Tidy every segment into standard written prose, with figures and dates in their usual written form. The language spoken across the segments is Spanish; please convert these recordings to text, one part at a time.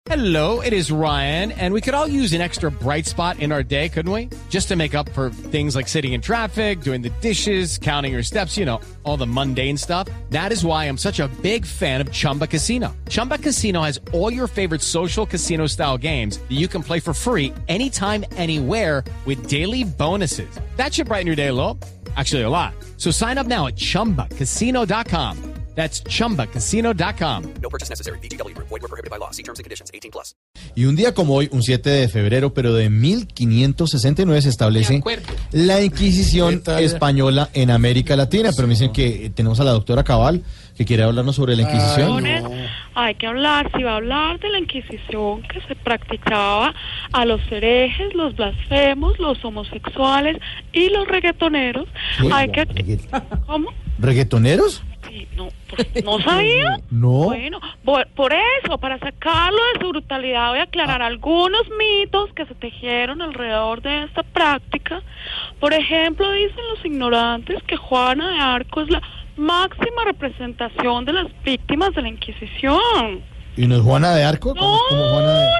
Hello, it is Ryan, and we could all use an extra bright spot in our day, couldn't we? Just to make up for things like sitting in traffic, doing the dishes, counting your steps, you know, all the mundane stuff. That is why I'm such a big fan of Chumba Casino. Chumba Casino has all your favorite social casino-style games that you can play for free anytime, anywhere with daily bonuses. That should brighten your day a little. Actually, a lot. So sign up now at ChumbaCasino.com. That's ChumbaCasino.com. No purchase necessary. VGW Group. Void where prohibited by law. See terms and conditions. 18+. Y un día como hoy, un 7 de febrero, pero de 1569, se establece la Inquisición española en América Latina. Pero me dicen que tenemos a la doctora Cabal, que quiere hablarnos sobre la Inquisición. Hay que hablar, si va a hablar de la Inquisición que se practicaba a los herejes, los blasfemos, los homosexuales y los reggaetoneros. Hay que... ¿Cómo? ¿Reggaetoneros? Sí, no, ¿no sabía? No. Bueno, por eso, para sacarlo de su brutalidad, voy a aclarar algunos mitos que se tejieron alrededor de esta práctica. Por ejemplo, dicen los ignorantes que Juana de Arco es la máxima representación de las víctimas de la Inquisición. ¿Y no es Juana de Arco? No, Juana de...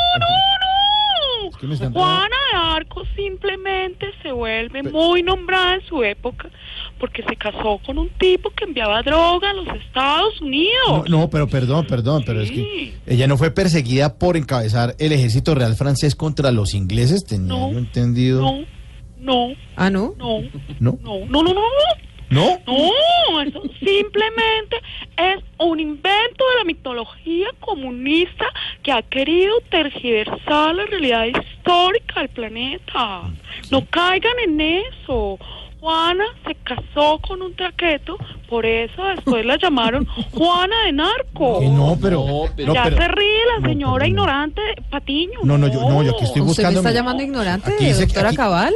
no. Juana de Arco simplemente se vuelve muy nombrada en su época porque se casó con un tipo que enviaba droga a los Estados Unidos. No, pero perdón, pero es que ella no fue perseguida por encabezar el ejército real francés contra los ingleses, tenía yo entendido. No. ¿Ah, no? No. ¿No? No, eso simplemente es un invento de la mitología comunista que ha querido tergiversar la realidad histórica del planeta. No caigan en eso. Juana se casó con un traqueto, por eso después la llamaron Juana de Narco. No, pero se ríe la señora ignorante Patiño. No, yo aquí estoy buscando. ¿Usted me está llamando ignorante, doctora Cabal?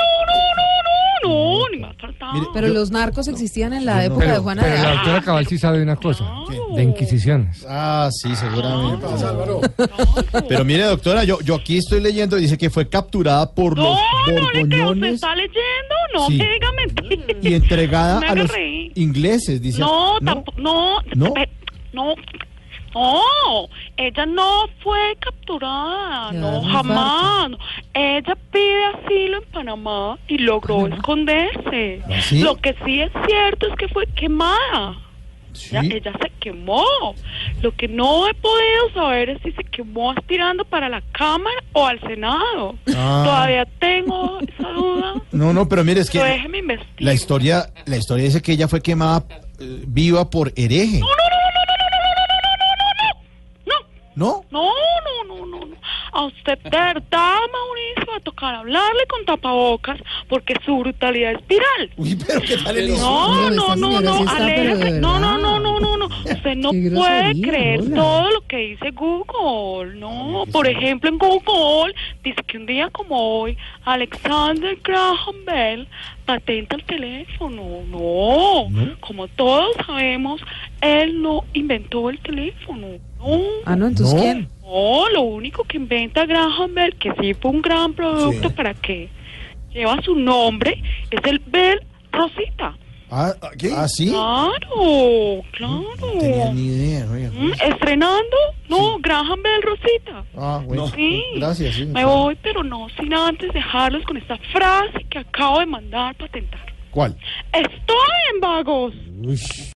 No, ni más faltaba. Pero los narcos existían en la época de Juana de Arco. Pero la doctora Cabal sí sabe una cosa, de inquisiciones. Ah, sí, seguramente. Pero mire, doctora, yo aquí estoy leyendo, dice que fue capturada por los borgoñones. ¿Usted está leyendo? No, sí. me diga mentira. Y entregada a los reír. ingleses, dice. No, ella no fue capturada, no, jamás. Ella pide asilo en Panamá y logró esconderse. ¿Ah, sí? Lo que sí es cierto es que fue quemada. ¿Sí? Ella se quemó. Lo que no he podido saber es si se quemó aspirando para la Cámara o al Senado. Todavía tengo esa duda. No, pero mire, es que Déjeme investigar. la historia dice que ella fue quemada viva por hereje. ¿No? No. A usted, de verdad, Mauricio, va a tocar hablarle con tapabocas porque su brutalidad es viral. Uy, pero ¿qué tal el No. Usted no puede creer todo lo que dice Google, no. Por ejemplo, en Google dice que un día como hoy, Alexander Graham Bell patenta el teléfono. No. Como todos sabemos, él no inventó el teléfono. No, entonces ¿quién? No, lo único que inventa Graham Bell, que sí fue un gran producto para que lleva su nombre, es el Bell Rosita. ¿Qué? ¿Ah, sí? Claro. No tenía ni idea. ¿Estrenando? No, Graham Bell Rosita. Bueno. Sí. Gracias. Sí, me voy, pero no sin antes dejarlos con esta frase que acabo de mandar patentar. ¿Cuál? Estoy en vagos. Uy.